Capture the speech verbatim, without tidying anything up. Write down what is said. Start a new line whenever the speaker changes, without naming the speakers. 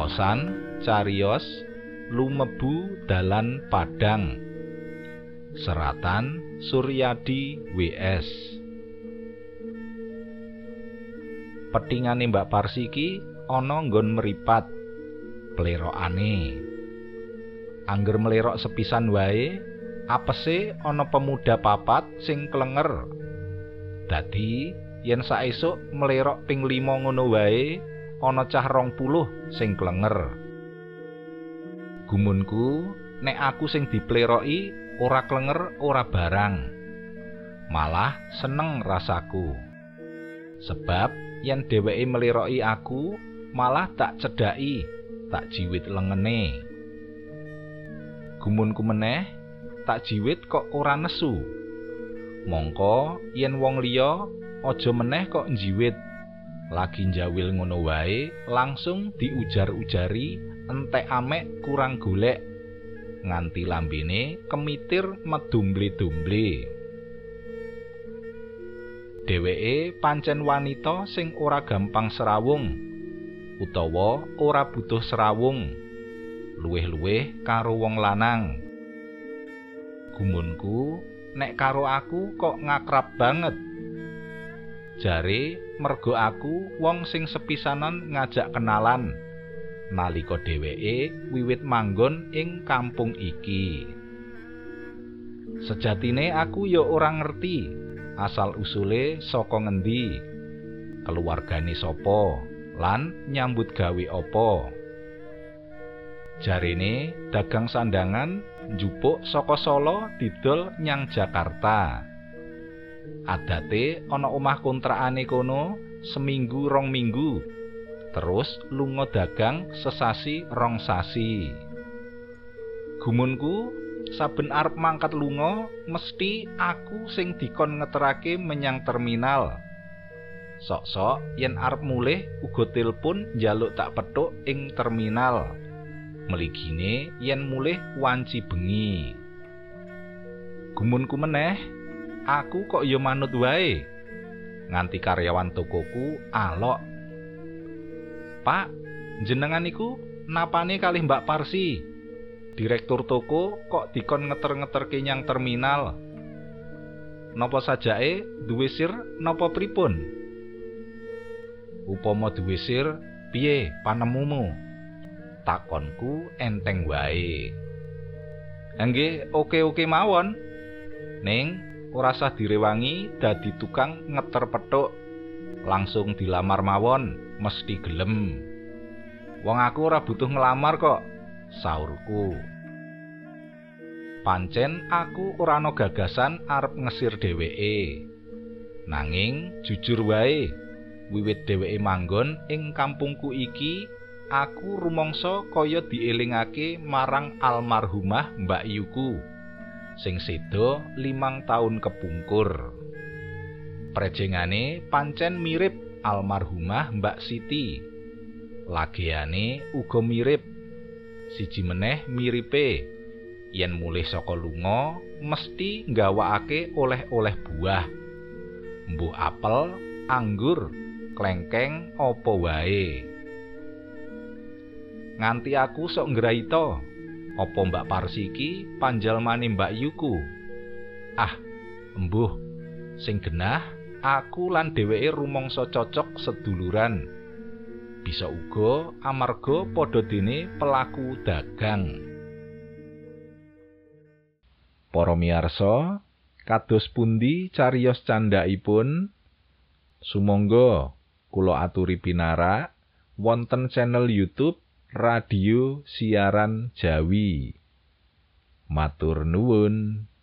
Cariosan cariyos lumebu dalan Padang. Seratan Suryadi W S. Petingane Mbak Parsi iki ana nggon meripat plerokane. Angger melerok sepisan wae, apese ana pemuda papat sing klenger. Dadi yen saesuk melerok ping lima ngono wae, ana cah rong puluh sing klenger. Gumunku nek aku sing dipleroki ora klenger ora barang. Malah seneng rasaku. Sebab yen dheweke meliroki aku, malah tak cedhaki, tak jiwit lengene. Gumunku meneh, tak jiwit kok ora nesu. Mongko yen wong liya aja meneh kok njiwit. Lagi njawil ngono wae langsung diujar-ujari entek amek kurang golek. Nganti lambene kemitir medumble-dumble. Dheweke pancen wanita sing ora gampang serawung utawa ora butuh serawung, luwih-luwih karo wong lanang. Gumunku nek karo aku kok ngakrab banget. Jare mergo aku wong sing sepisanan ngajak kenalan nalika dheweke wiwit manggon ing kampung iki. Sejatine aku ya ora ngerti asal usule saka ngendi, keluargane sapa, lan nyambut gawe apa. Jarene dagang sandangan njupuk saka Solo didol nyang Jakarta. Adate ana omah kontrakane kono seminggu rong minggu, terus lunga dagang sesasi rong sasi. Gumunku saben arep mangkat lunga mesti aku sing dikon ngeterake menyang terminal. Sok-sok yen arep mulih uga tilpun njaluk tak petuk ing terminal. Meligine yen mulih wanci bengi. Gumunku meneh, aku kok ya manut wae. Nganti karyawan tokoku alok. Pak, jenengan iku napane kalih Mbak Parsi? Direktur toko kok dikon ngeter-ngeterke nyang terminal. Napa sajake duwe sir napa pripun? Upama duwe sir, piye panemumu? Takonku enteng wae. Nggih, oke-oke mawon. Ning ora usah direwangi dadi tukang ngeter petuk. Langsung dilamar mawon, mesti gelem. Wong aku ora butuh ngelamar kok, saurku. Pancen aku ora ana gagasan arep ngesir dheweke. Nanging jujur wae, wiwit dheweke manggon ing kampungku iki, aku rumangsa kaya dielingake marang almarhumah Mbak Yuku sing seda limang taun kepungkur. Prejengane pancen mirip almarhumah Mbak Siti. Lagiane uga mirip. Siji meneh miripe, yen mulih saka lunga mesti nggawakake oleh-oleh buah. Mbuh apel, anggur, klengkeng apa wae. Nganti aku sok ngraita, apa Mbak Parsi iki panjalmane Mbak Yuku. Ah, embuh, sing genah aku lan dheweke rumangsa cocok seduluran. Bisa uga amarga padha dene pelaku dagang. Para miyarsa, kados pundi cariyos candhaipun? Sumangga kula aturi pinarak wonten channel YouTube Radio Siaran Jawi. Matur nuwun.